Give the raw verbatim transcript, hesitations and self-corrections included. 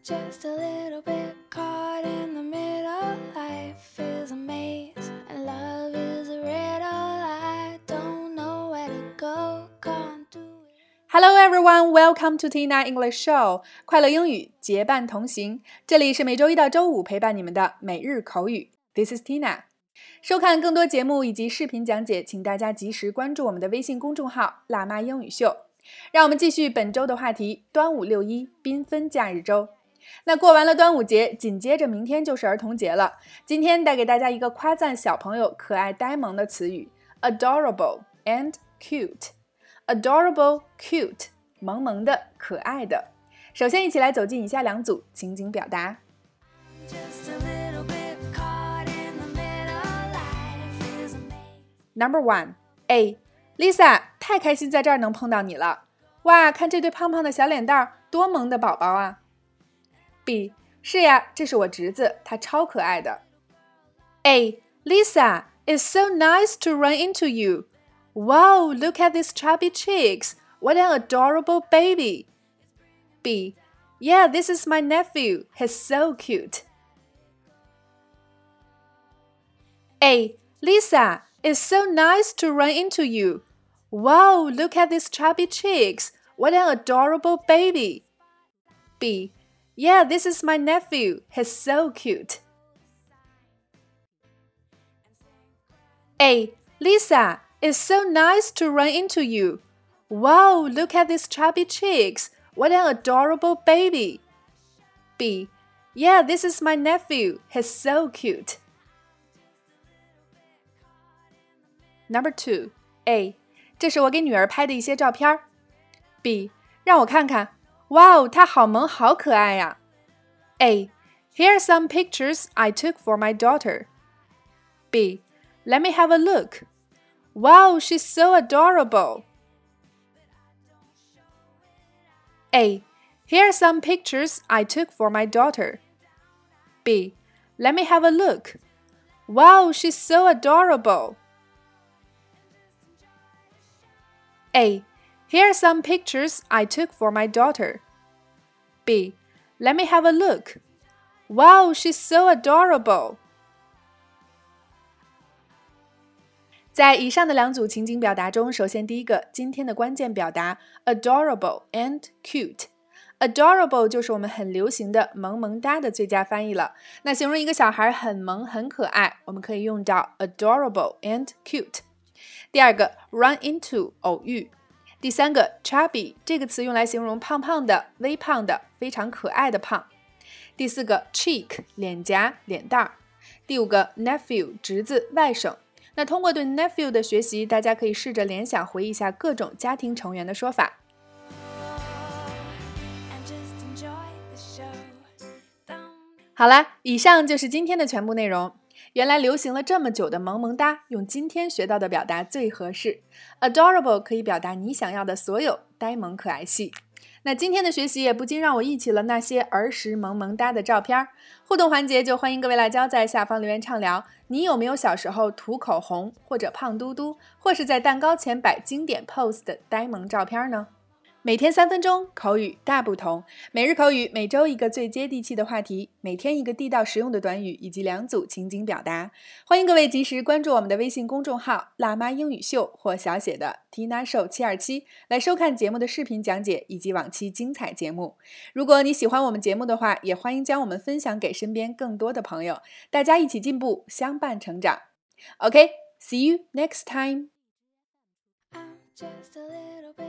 just a little bit caught in the middle. Life is a maze and love is a riddle. I don't know where to go, can't do it. Hello everyone, welcome to Tina English Show. 快乐英语结伴同行，这里是每周一到周五陪伴你们的每日口语。This is Tina。收看更多节目以及视频讲解，请大家及时关注我们的微信公众号“辣妈英语秀”。让我们继续本周的话题：端午六一，缤纷假日周。那过完了端午节，紧接着明天就是儿童节了。今天带给大家一个夸赞小朋友可爱呆萌的词语 adorable and cute。adorable cute 萌萌的可爱的。首先一起来走进以下两组情景表达。 Number one A Lisa 太开心在这儿能碰到你了。哇，看这对胖胖的小脸蛋儿，多萌的宝宝啊。B 是呀，这是我侄子，他超可爱的。A Lisa, it's so nice to run into you. Wow, look at these chubby cheeks. What an adorable baby. B Yeah, this is my nephew. He's so cute. A Lisa, it's so nice to run into you. Wow, look at these chubby cheeks. What an adorable baby. B Yeah, this is my nephew. He's so cute. A Lisa, it's so nice to run into you. Wow, look at these chubby cheeks. What an adorable baby. B Yeah, this is my nephew. He's so cute. Number two A 这是我给女儿拍的一些照片。 B 让我看看。哇哦，她好萌好可爱呀。 A Here are some pictures I took for my daughter. B Let me have a look. Wow, she's so adorable. A Here are some pictures I took for my daughter. B Let me have a look. Wow, she's so adorable. A Here are some pictures I took for my daughter. B Let me have a look. Wow, she's so adorable. 在以上的两组情景表达中，首先第一个，今天的关键表达 adorable and cute。adorable 就是我们很流行的萌萌哒的最佳翻译了。那形容一个小孩很萌很可爱，我们可以用到 adorable and cute。第二个 run into 偶遇。第三个 chubby 这个词用来形容胖胖的、微胖的、非常可爱的胖。第四个 cheek 脸颊、脸蛋儿。第五个 nephew 侄子、外甥。那通过对 nephew 的学习，大家可以试着联想回忆一下各种家庭成员的说法。好啦，以上就是今天的全部内容。原来流行了这么久的萌萌哒，用今天学到的表达最合适。adorable 可以表达你想要的所有呆萌可爱系。那今天的学习也不禁让我忆起了那些儿时萌萌哒的照片。互动环节就欢迎各位辣椒在下方留言畅聊，你有没有小时候涂口红，或者胖嘟嘟，或是在蛋糕前摆经典 pose 的呆萌照片呢？每天三分钟，口语大不同。每日口语，每周一个最接地气的话题，每天一个地道实用的短语，以及两组情景表达。欢迎各位及时关注我们的微信公众号“辣妈英语秀”或小写的 Tina Show 七二七，来收看节目的视频讲解以及往期精彩节目。如果你喜欢我们节目的话，也欢迎将我们分享给身边更多的朋友，大家一起进步，相伴成长。OK, see you next time. I'm just a little bit